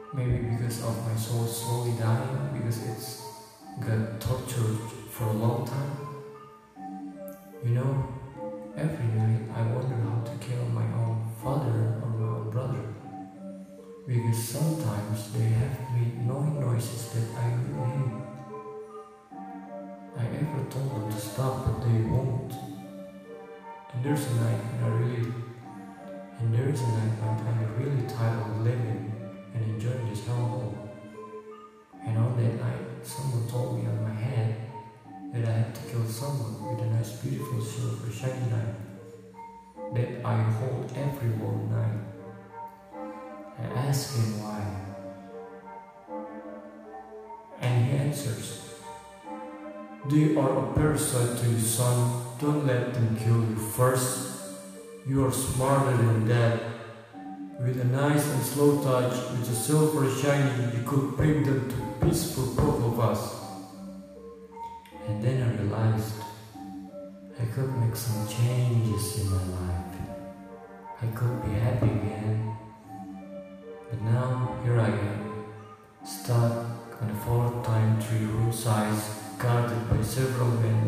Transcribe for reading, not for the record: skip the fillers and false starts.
Maybe because of my soul slowly dying, because it's got tortured for a long time. You know, every night I wonder how to kill my own father or my own brother. Because sometimes they have made annoying noises that I really hate. I ever told them to stop, but they won't. And there's a night when I'm really tired of living and enjoying this hellhole. And on that night, someone told me on my head that I had to kill someone with a nice, beautiful, silver, shiny knife that I hold every warm night. I asked him why, and he answers, "They are a parasite to you, son. Don't let them kill you first. You are smarter than that. With a nice and slow touch, with a silver shiny, you could break them to pieces for both of us." And then I realized I could make some changes in my life. I could be happy again. But now, here I am, stuck on a 4x3 room size, guarded by several men